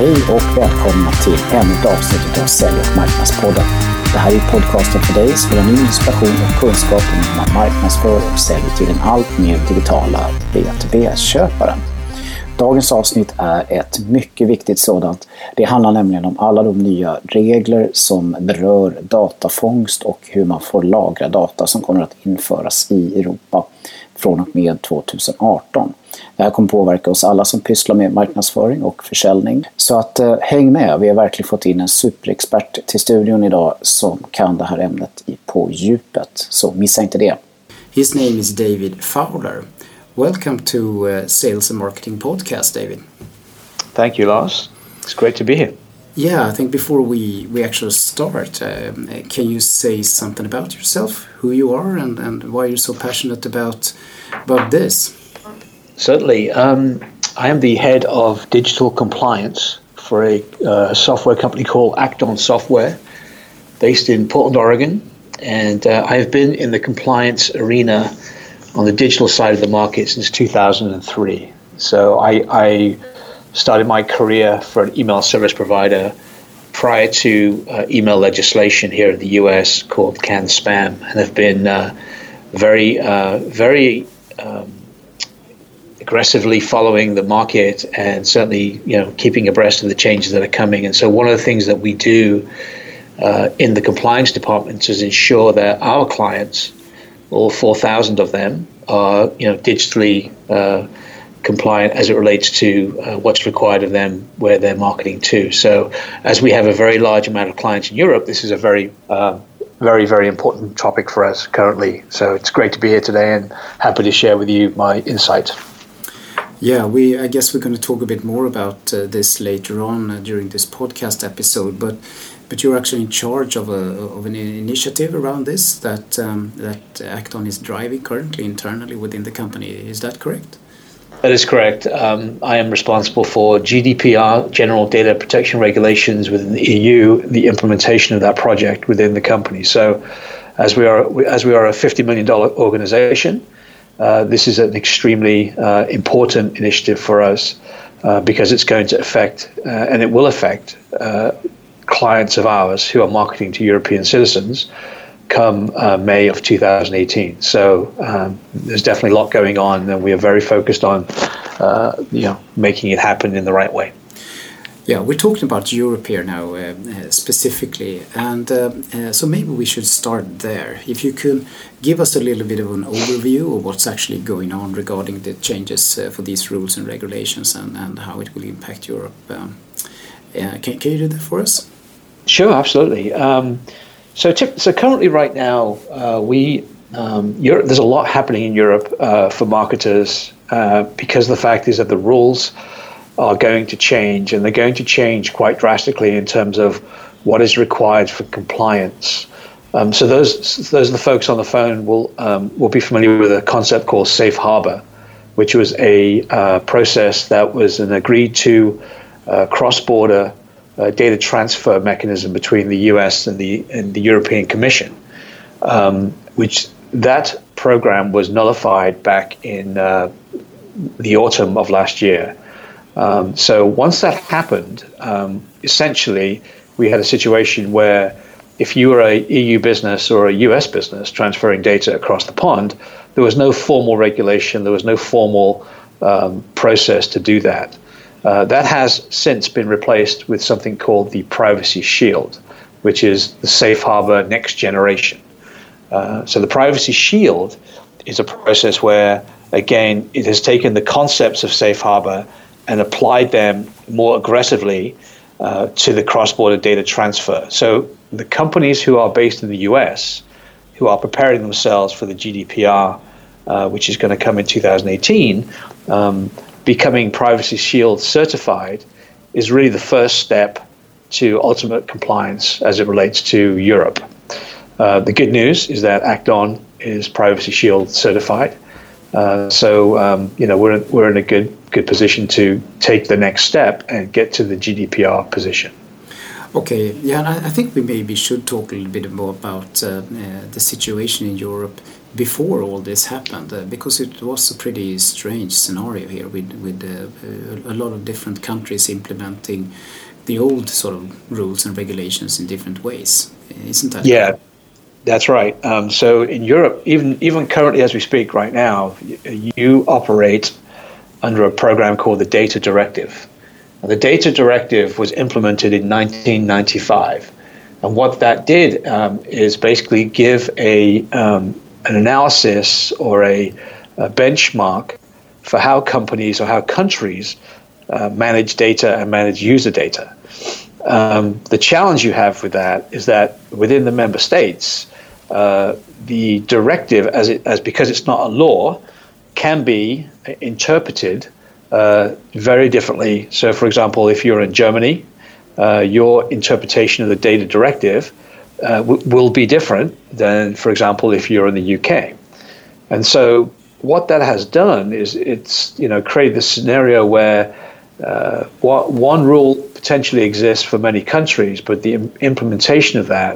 Hej och välkomna till ännu ett avsnitt av Sälj- och marknadspodden. Det här är podcasten för dig som vill ha ny inspiration och kunskap om hur man marknadsför och säljer till den allt mer digitala B2B-köparen. Dagens avsnitt är ett mycket viktigt sådant. Det handlar nämligen om alla de nya regler som berör datafångst och hur man får lagra data som kommer att införas i Europa från och med 2018. Det här kommer påverka oss alla som pysslar med marknadsföring och försäljning. Så att häng med, vi har verkligen fått in en superexpert till studion idag som kan det här ämnet på djupet. Så missa inte det. His name is David Fowler. Welcome to Sales and Marketing Podcast, David. Thank you, Lars. It's great to be here. Yeah, I think before we actually start, can you say something about yourself, who you are, and why you're so passionate about this? Certainly. I am the head of digital compliance for a software company called Acton Software, based in Portland, Oregon. And I have been in the compliance arena on the digital side of the market since 2003. So I started my career for an email service provider prior to email legislation here in the US called CAN-SPAM, and have been very aggressively following the market and certainly keeping abreast of the changes that are coming. And so one of the things that we do in the compliance department is ensure that our clients, all 4,000 of them, are digitally compliant as it relates to what's required of them, where they're marketing to. So as we have a very large amount of clients in Europe, this is a very important topic for us currently. So it's great to be here today and happy to share with you my insight. Yeah, I guess we're going to talk a bit more about this later on during this podcast episode, but you're actually in charge of an initiative around this that Acton is driving currently internally within the company. Is that correct? That is correct. I am responsible for GDPR, General Data Protection Regulations within the EU, the implementation of that project within the company. So as we are a $50 million organization, this is an extremely important initiative for us because it's going to affect, and it will affect, clients of ours who are marketing to European citizens come May of 2018. So there's definitely a lot going on, and we are very focused on making it happen in the right way. Yeah, we're talking about Europe here now specifically, and so maybe we should start there. If you could give us a little bit of an overview of what's actually going on regarding the changes for these rules and regulations and how it will impact Europe. Can you do that for us? Sure, absolutely. So currently, right now, there's a lot happening in Europe for marketers because the fact is that the rules are going to change, and they're going to change quite drastically in terms of what is required for compliance. So those of the folks on the phone will be familiar with a concept called safe harbor, which was a process that was an agreed to cross-border data transfer mechanism between the US and the European Commission, which that program was nullified back in the autumn of last year. So once that happened, essentially we had a situation where if you were a EU business or a US business transferring data across the pond, there was no formal regulation, there was no formal process to do that. That has since been replaced with something called the Privacy Shield, which is the Safe Harbor next generation. So the Privacy Shield is a process where, again, it has taken the concepts of Safe Harbor and applied them more aggressively to the cross-border data transfer. So the companies who are based in the US, who are preparing themselves for the GDPR, which is going to come in 2018, becoming Privacy Shield certified is really the first step to ultimate compliance as it relates to Europe. The good news is that Acton is Privacy Shield certified. We're in a good position to take the next step and get to the GDPR position. Okay, yeah, and I think we maybe should talk a little bit more about the situation in Europe before all this happened, because it was a pretty strange scenario here with a lot of different countries implementing the old sort of rules and regulations in different ways. Isn't that? Yeah, that's right. So in Europe, even currently as we speak right now, you operate under a program called the Data Directive. And the Data Directive was implemented in 1995. And what that did is basically give an analysis or a benchmark for how companies or how countries manage data and manage user data. The challenge you have with that is that within the member states, the directive, because it's not a law, can be interpreted very differently. So, for example, if you're in Germany, your interpretation of the data directive will be different than, for example, if you're in the UK. And so what that has done is it's created this scenario where one rule potentially exists for many countries, but the implementation of that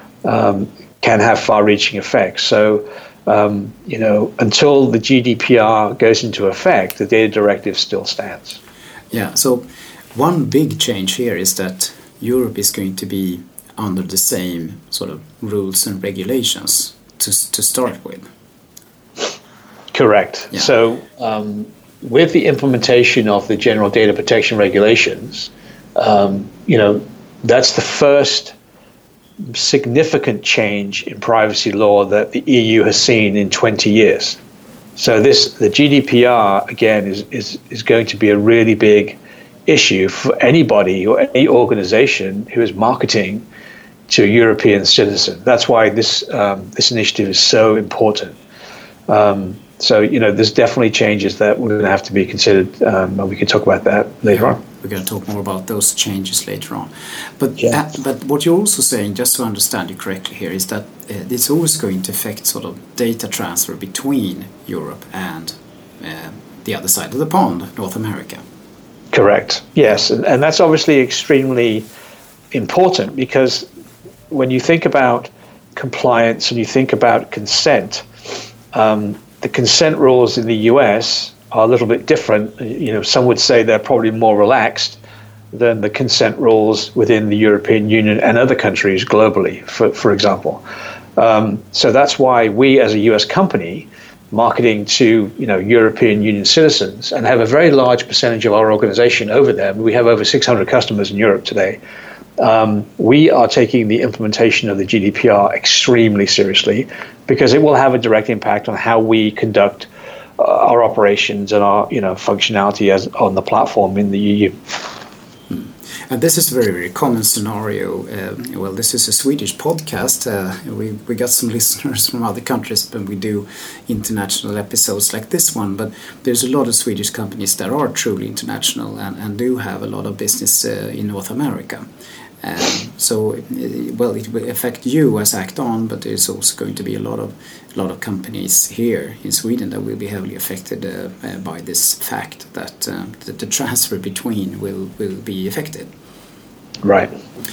can have far-reaching effects. So, until the GDPR goes into effect, the data directive still stands. Yeah, so one big change here is that Europe is going to be under the same sort of rules and regulations to start with. Correct. Yeah. So with the implementation of the General Data Protection Regulations, that's the first significant change in privacy law that the EU has seen in 20 years. So the GDPR, again, is going to be a really big issue for anybody or any organization who is marketing to a European citizen. That's why this initiative is so important. So, there's definitely changes that we're going to have to be considered, and we can talk about that later on. We're going to talk more about those changes later on. But yeah. But what you're also saying, just to understand you correctly here, is that it's always going to affect sort of data transfer between Europe and the other side of the pond, North America. Correct. Yes, and that's obviously extremely important, because when you think about compliance and you think about consent, the consent rules in the US are a little bit different. Some would say they're probably more relaxed than the consent rules within the European Union and other countries globally, for example. So that's why we, as a US company, marketing to European Union citizens, and have a very large percentage of our organization over there. We have over 600 customers in Europe today. We are taking the implementation of the GDPR extremely seriously, because it will have a direct impact on how we conduct our operations and our functionality as on the platform in the EU. And this is a very, very common scenario. This is a Swedish podcast. We got some listeners from other countries when we do international episodes like this one. But there's a lot of Swedish companies that are truly international and do have a lot of business in North America. So it will affect you as Act On, but there's also going to be a lot of companies here in Sweden that will be heavily affected by this fact that the transfer between will be affected. Right.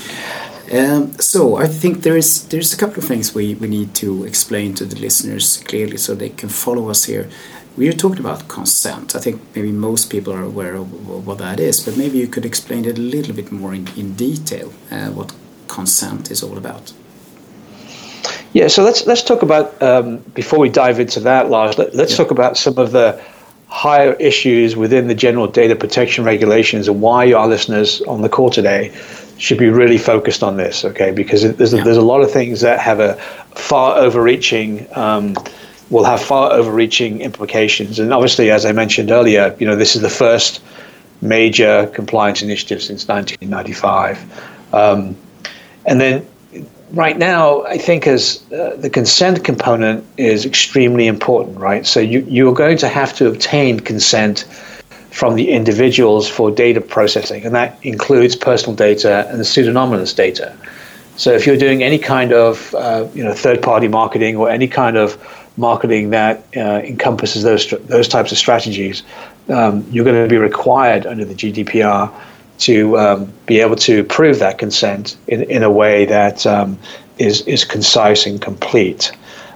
So I think there's a couple of things we need to explain to the listeners clearly so they can follow us here. We are talking about consent. I think maybe most people are aware of what that is, but maybe you could explain it a little bit more in detail, what consent is all about. Yeah, so let's talk about, before we dive into that, Lars, let's talk about some of the higher issues within the General Data Protection Regulations and why our listeners on the call today should be really focused on this, okay? Because there's a lot of things that have a far overreaching will have far overreaching implications. And obviously, as I mentioned earlier, this is the first major compliance initiative since 1995. And then right now, I think as the consent component is extremely important, right? So you're going to have to obtain consent from the individuals for data processing, and that includes personal data and pseudonymous data. So if you're doing any kind of third-party marketing or any kind of marketing that encompasses those types of strategies, you're going to be required under the GDPR to be able to prove that consent in a way that is concise and complete.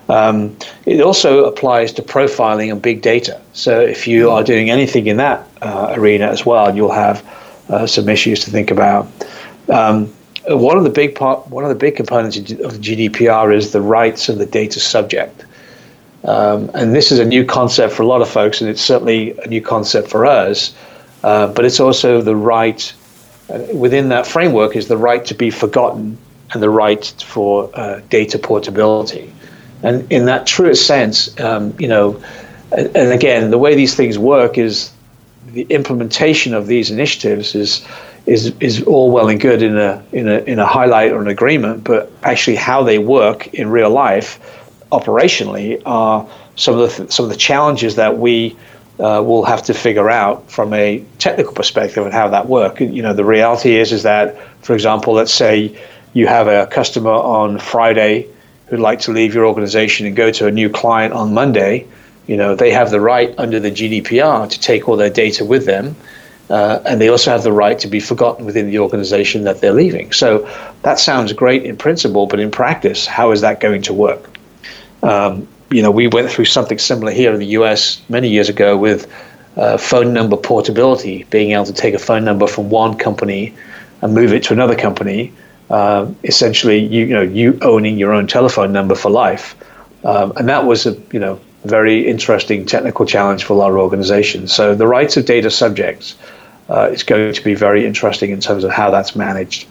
It also applies to profiling and big data. So if you are doing anything in that arena as well, you'll have some issues to think about. One of the big components of the GDPR is the rights of the data subject. And this is a new concept for a lot of folks, and it's certainly a new concept for us. But it's also the right, within that framework, is the right to be forgotten and the right for data portability. And in that truest sense, and again, the way these things work is the implementation of these initiatives is all well and good in a highlight or an agreement, but actually how they work in real life operationally are some of the challenges that we will have to figure out from a technical perspective and how that works. The reality is that, for example, let's say you have a customer on Friday who'd like to leave your organization and go to a new client on Monday. They have the right under the GDPR to take all their data with them, and they also have the right to be forgotten within the organization that they're leaving. So that sounds great in principle, but in practice, how is that going to work? We went through something similar here in the US many years ago with phone number portability, being able to take a phone number from one company and move it to another company. Essentially, you owning your own telephone number for life, and that was a very interesting technical challenge for a lot of organizations. So the rights of data subjects is going to be very interesting in terms of how that's managed.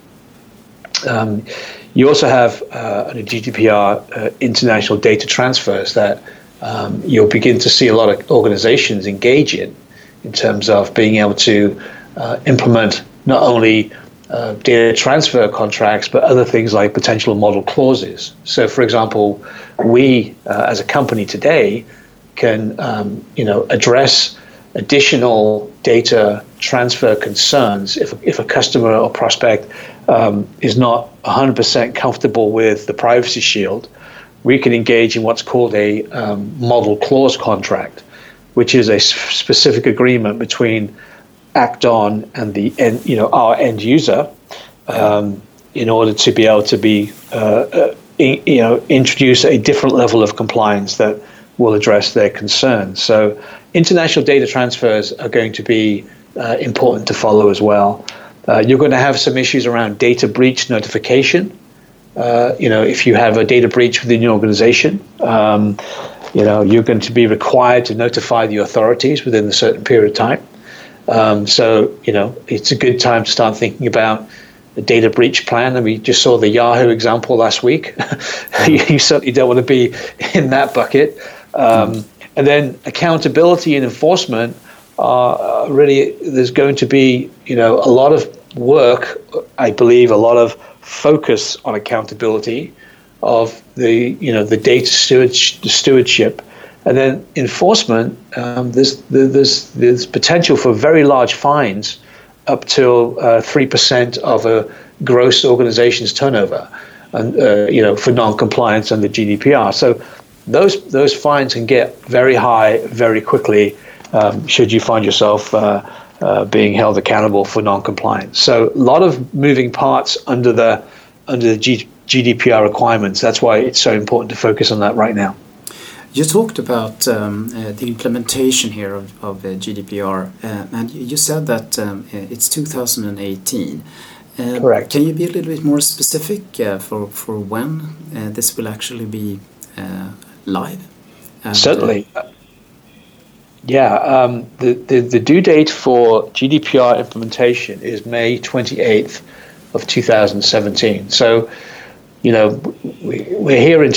You also have a GDPR international data transfers that you'll begin to see a lot of organizations engage in terms of being able to implement not only data transfer contracts, but other things like potential model clauses. So, for example, we as a company today can, address additional data transfer concerns if a customer or prospect is not 100% comfortable with the Privacy Shield. We can engage in what's called a model clause contract, which is a specific agreement between Act-On and our end user, in order to be able to be introduce a different level of compliance that will address their concerns. So international data transfers are going to be important to follow as well. You're going to have some issues around data breach notification. If you have a data breach within your organization, you're going to be required to notify the authorities within a certain period of time. So it's a good time to start thinking about the data breach plan. And we just saw the Yahoo example last week. You certainly don't want to be in that bucket. And then accountability and enforcement are really, there's going to be, a lot of work, I believe, a lot of focus on accountability of the data stewardship. And then enforcement, there's potential for very large fines up to 3% of a gross organization's turnover, and for non-compliance under GDPR. So those fines can get very high very quickly should you find yourself being held accountable for non-compliance. So a lot of moving parts under the GDPR requirements. That's why it's so important to focus on that right now. You talked about the implementation here of GDPR, and you said that it's 2018. Correct. Can you be a little bit more specific for when this will actually be live? Certainly. The due date for GDPR implementation is May 28th of 2017. So, we're here in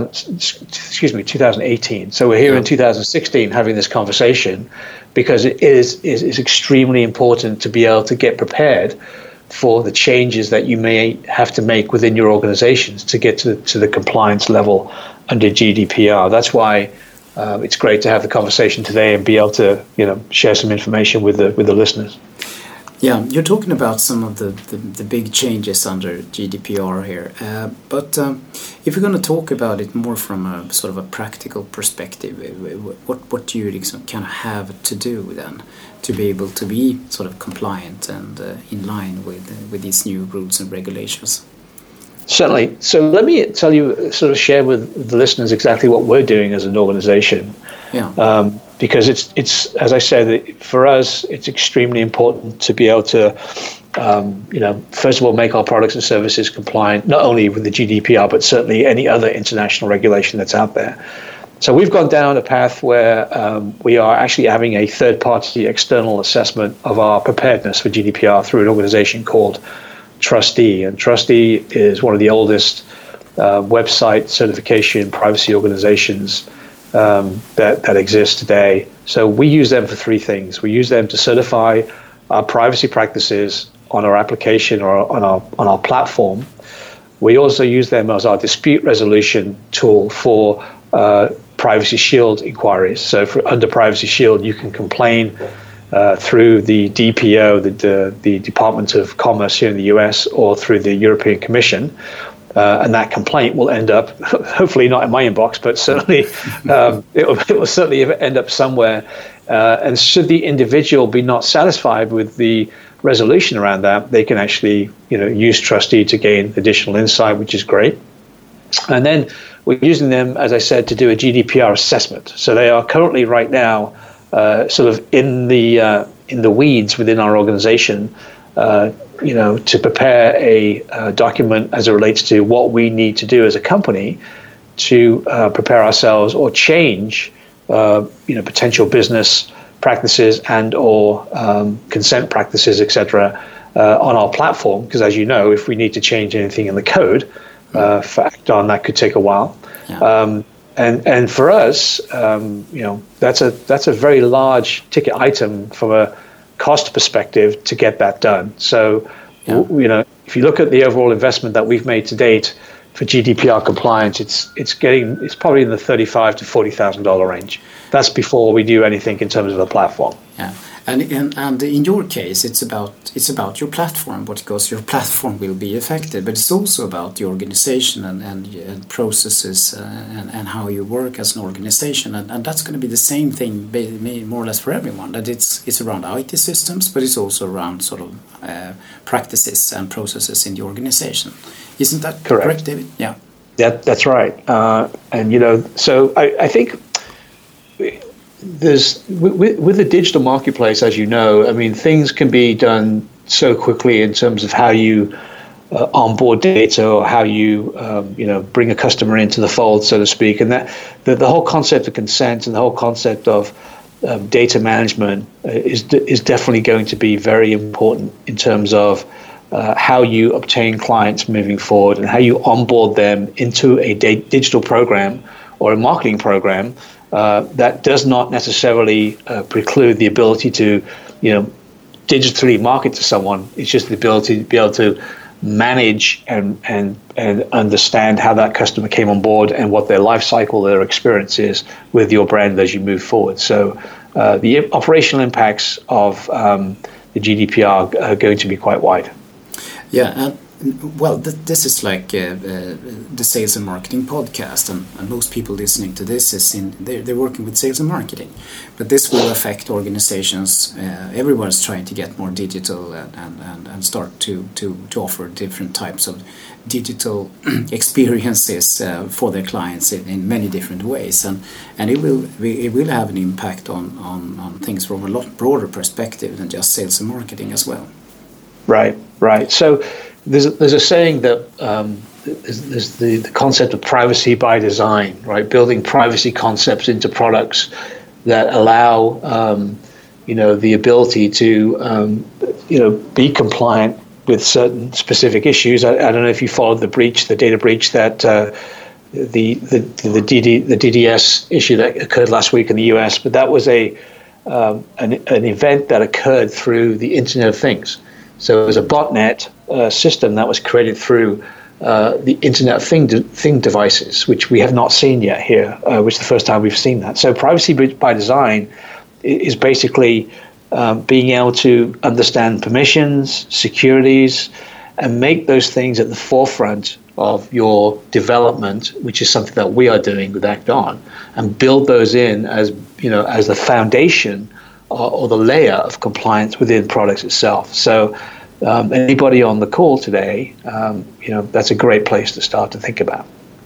2018. So we're here in 2016 having this conversation because it is extremely important to be able to get prepared for the changes that you may have to make within your organizations to get to the compliance level under GDPR. That's why it's great to have the conversation today and be able to share some information with the listeners. Yeah, you're talking about some of the big changes under GDPR here, but if we're going to talk about it more from a sort of a practical perspective, what do you kind of have to do then to be able to be sort of compliant and in line with these new rules and regulations? Certainly. So let me tell you, sort of share with the listeners exactly what we're doing as an organization. Yeah. Because it's as I said, for us, it's extremely important to be able to, first of all, make our products and services compliant, not only with the GDPR, but certainly any other international regulation that's out there. So we've gone down a path where we are actually having a third-party external assessment of our preparedness for GDPR through an organization called Trustee. And Trustee is one of the oldest website certification privacy organizations that exist today. So we use them for three things. We use them to certify our privacy practices on our application or on our platform. We also use them as our dispute resolution tool for Privacy Shield inquiries. So under Privacy Shield, you can complain through the DPO, the Department of Commerce here in the US, or through the European Commission. And that complaint will end up, hopefully not in my inbox, but certainly it will certainly end up somewhere. And should the individual be not satisfied with the resolution around that, they can actually use Trustee to gain additional insight, which is great. And then we're using them, as I said, to do a GDPR assessment. So they are currently right now sort of in the weeds within our organization, to prepare a document as it relates to what we need to do as a company to prepare ourselves or change, potential business practices and or consent practices, etc., on our platform. Because as you know, if we need to change anything in the code for Acton, that could take a while. Yeah. And for us, that's a very large ticket item from a cost perspective to get that done. So, if you look at the overall investment that we've made to date for GDPR compliance, it's probably in the $35,000 to $40,000 range. That's before we do anything in terms of the platform. Yeah. And in your case, it's about your platform, because your platform will be affected, but it's also about the organization and processes and how you work as an organization, and that's going to be the same thing more or less for everyone. That it's around IT systems, but it's also around sort of practices and processes in the organization. Isn't that correct, David? Yeah. That's right. So I think. There's with the digital marketplace, as you know, I mean, things can be done so quickly in terms of how you onboard data or how you bring a customer into the fold, so to speak, and that the whole concept of consent and the whole concept of data management is definitely going to be very important in terms of how you obtain clients moving forward and how you onboard them into a digital program or a marketing program. That does not necessarily preclude the ability to, digitally market to someone. It's just the ability to be able to manage and understand how that customer came on board and what their life cycle, their experience is with your brand as you move forward. So the operational impacts of the GDPR are going to be quite wide. Yeah. Well, this is like the sales and marketing podcast, and most people listening to this they're working with sales and marketing, but this will affect organizations. Everyone's trying to get more digital and start to offer different types of digital experiences for their clients in many different ways, and it will have an impact on things from a lot broader perspective than just sales and marketing as well. Right. So. There's a saying that there's the concept of privacy by design, right? Building privacy concepts into products that allow, the ability to, be compliant with certain specific issues. I don't know if you followed the data breach that the DDS issue that occurred last week in the US, but that was an event that occurred through the Internet of Things. So it was a botnet system that was created through the Internet of Thing devices, which we have not seen yet here, which is the first time we've seen that. So privacy by design is basically being able to understand permissions, securities, and make those things at the forefront of your development, which is something that we are doing with Acton, and build those in as the foundation or the layer of compliance within products itself. So anybody on the call today, that's a great place to start to think about.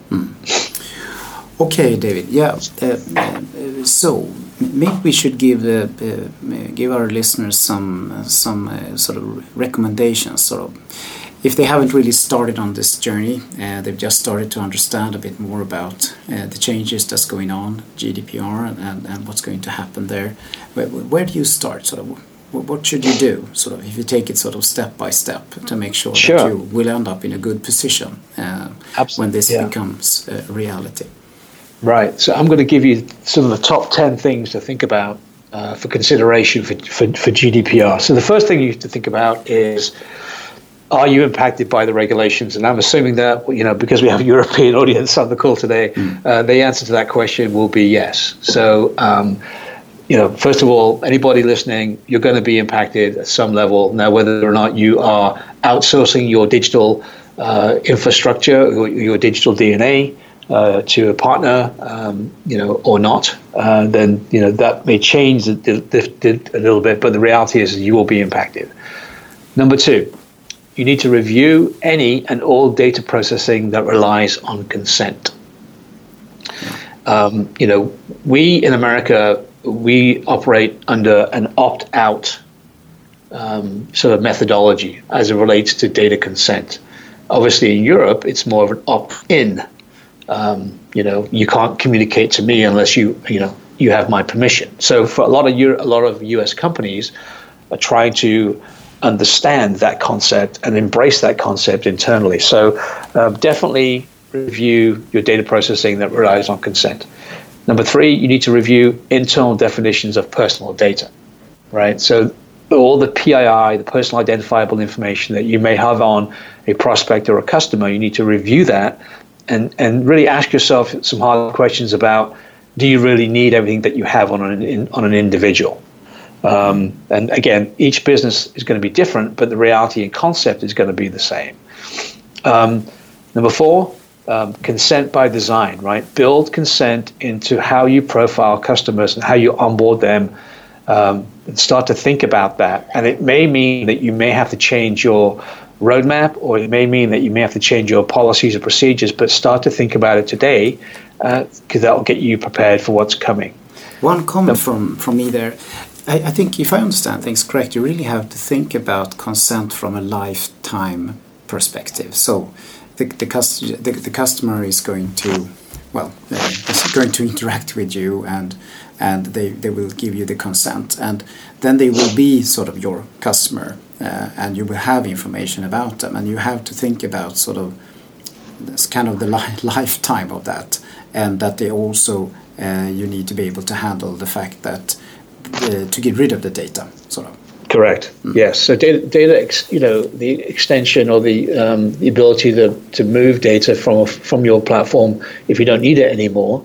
Okay, David. Yeah. So maybe we should give our listeners some sort of recommendations. Sort of, if they haven't really started on this journey, they've just started to understand a bit more about the changes that's going on, GDPR, and what's going to happen there. Where do you start? Sort of, what should you do? Sort of, if you take it sort of step by step to make sure that you will end up in a good position when this becomes reality. Right. So I'm going to give you some of the top 10 things to think about for consideration for GDPR. So the first thing you have to think about is, are you impacted by the regulations? And I'm assuming that, because we have a European audience on the call today, the answer to that question will be yes. So, first of all, anybody listening, you're going to be impacted at some level. Now, whether or not you are outsourcing your digital infrastructure, or your digital DNA, to a partner, or not, then that may change a little bit, but the reality is you will be impacted. Number two, you need to review any and all data processing that relies on consent. We in America, we operate under an opt-out sort of methodology as it relates to data consent. Obviously, in Europe, it's more of an opt-in. You can't communicate to me unless you have my permission. So for a lot of U.S. companies are trying to understand that concept and embrace that concept internally. So definitely review your data processing that relies on consent. Number three, you need to review internal definitions of personal data, right? So all the PII, the personal identifiable information that you may have on a prospect or a customer, you need to review that and really ask yourself some hard questions about, do you really need everything that you have on an individual? And again, each business is going to be different, but the reality and concept is going to be the same. Number four, consent by design, right? Build consent into how you profile customers and how you onboard them, and start to think about that. And it may mean that you may have to change your roadmap, or it may mean that you may have to change your policies or procedures, but start to think about it today, because that will get you prepared for what's coming. One comment from me there. I think if I understand things correct, you really have to think about consent from a lifetime perspective. So the customer is going to, is going to interact with you, and they will give you the consent, and then they will be sort of your customer, and you will have information about them, and you have to think about sort of this kind of the lifetime of that, and that they also you need to be able to handle the fact that to get rid of the data, sort of. Correct. Yes. So data, the extension or the ability to move data from your platform if you don't need it anymore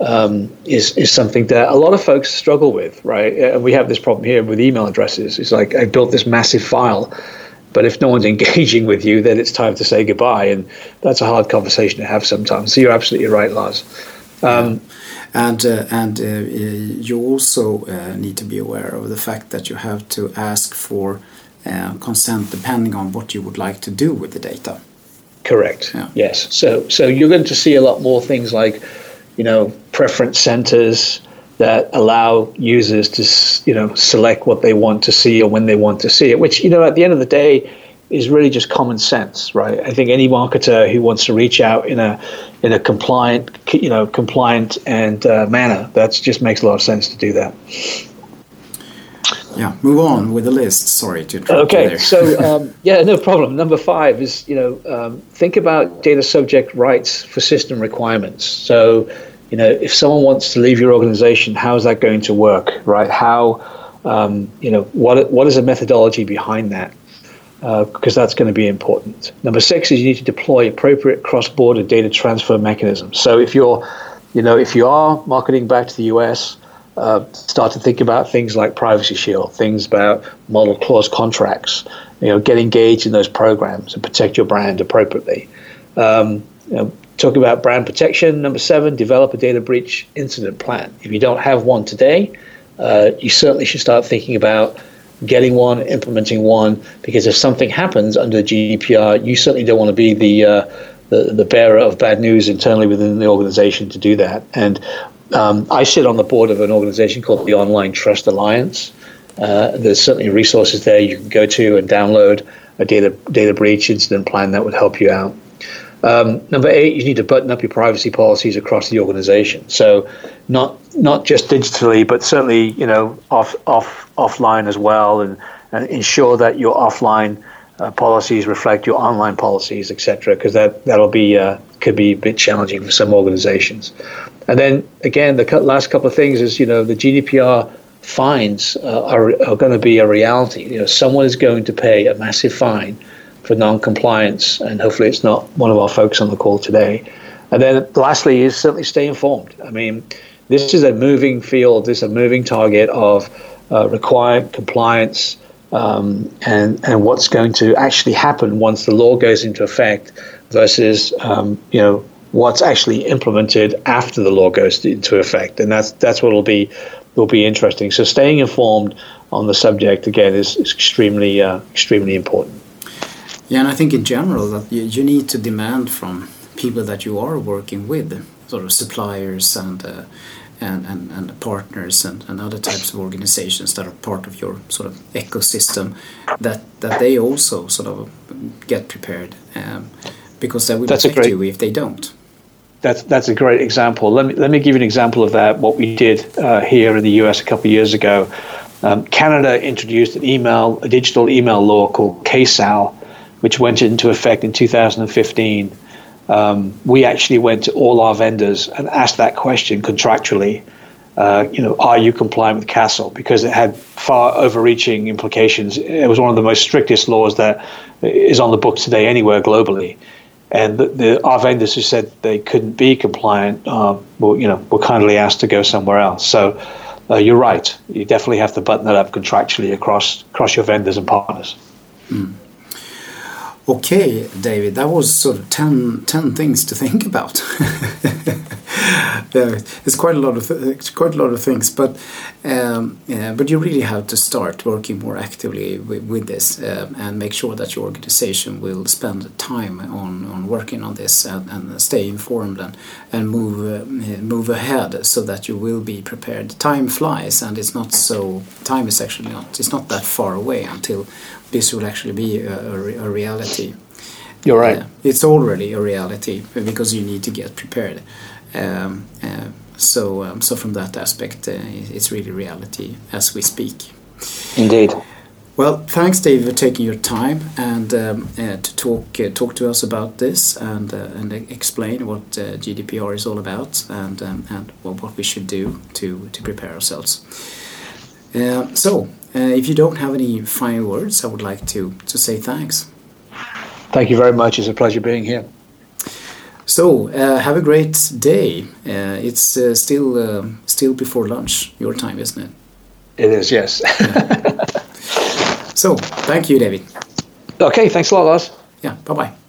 is something that a lot of folks struggle with, right? And we have this problem here with email addresses. It's like, I built this massive file, but if no one's engaging with you, then it's time to say goodbye, and that's a hard conversation to have sometimes. So you're absolutely right, Lars. And you also need to be aware of the fact that you have to ask for consent depending on what you would like to do with the data. Correct. Yeah. Yes. So you're going to see a lot more things like, preference centers that allow users to, select what they want to see or when they want to see it, which, at the end of the day is really just common sense, right? I think any marketer who wants to reach out in a compliant and manner, that just makes a lot of sense to do that. Yeah, move on with the list. Sorry to interrupt you there. Okay, so no problem. Number 5 is think about data subject rights for system requirements. So if someone wants to leave your organization, how is that going to work, right? How what is the methodology behind that? Because that's going to be important. Number 6 is you need to deploy appropriate cross-border data transfer mechanisms. So if you are marketing back to the US, start to think about things like Privacy Shield, things about model clause contracts. Get engaged in those programs and protect your brand appropriately. Talk about brand protection. Number 7, develop a data breach incident plan. If you don't have one today, you certainly should start thinking about getting one, implementing one, because if something happens under GDPR, you certainly don't want to be the bearer of bad news internally within the organization to do that. And I sit on the board of an organization called the Online Trust Alliance. There's certainly resources there you can go to and download a data breach incident plan that would help you out. Number 8, you need to button up your privacy policies across the organization. So not just digitally, but certainly offline as well, and ensure that your offline policies reflect your online policies, etc. Because that'll be could be a bit challenging for some organizations. And then again, the last couple of things is the GDPR fines are going to be a reality. Someone is going to pay a massive fine for non-compliance, and hopefully it's not one of our folks on the call today. And then lastly is certainly stay informed. I mean, this is a moving field, this is a moving target of required compliance and what's going to actually happen once the law goes into effect versus what's actually implemented after the law goes into effect. And that's what will be interesting. So staying informed on the subject again is extremely important. Yeah, and I think in general that you need to demand from people that you are working with, sort of suppliers and partners and other types of organizations that are part of your sort of ecosystem, that they also sort of get prepared, because that would affect you if they don't. That's a great example. Let me give you an example of that. What we did here in the US a couple of years ago. Canada introduced a digital email law called KSAL, which went into effect in 2015. We actually went to all our vendors and asked that question contractually. Are you compliant with CASL? Because it had far overreaching implications. It was one of the most strictest laws that is on the books today anywhere globally. And our vendors who said they couldn't be compliant were kindly asked to go somewhere else. So you're right. You definitely have to button that up contractually across your vendors and partners. Mm. Okay, David, that was sort of 10 things to think about. It's quite a lot of things, but you really have to start working more actively with this and make sure that your organization will spend time on working on this and stay informed and move ahead so that you will be prepared. Time flies, and it's not that far away until this will actually be a reality. You're right. It's already a reality because you need to get prepared. So from that aspect, it's really reality as we speak. Indeed. Well, thanks, Dave, for taking your time and to talk to us about this and explain what GDPR is all about and what we should do to prepare ourselves. If you don't have any final words, I would like to say thanks. Thank you very much. It's a pleasure being here. So have a great day. It's still before lunch, your time, isn't it? It is, yes. So, thank you, David. Okay, thanks a lot, Lars. Yeah, bye-bye.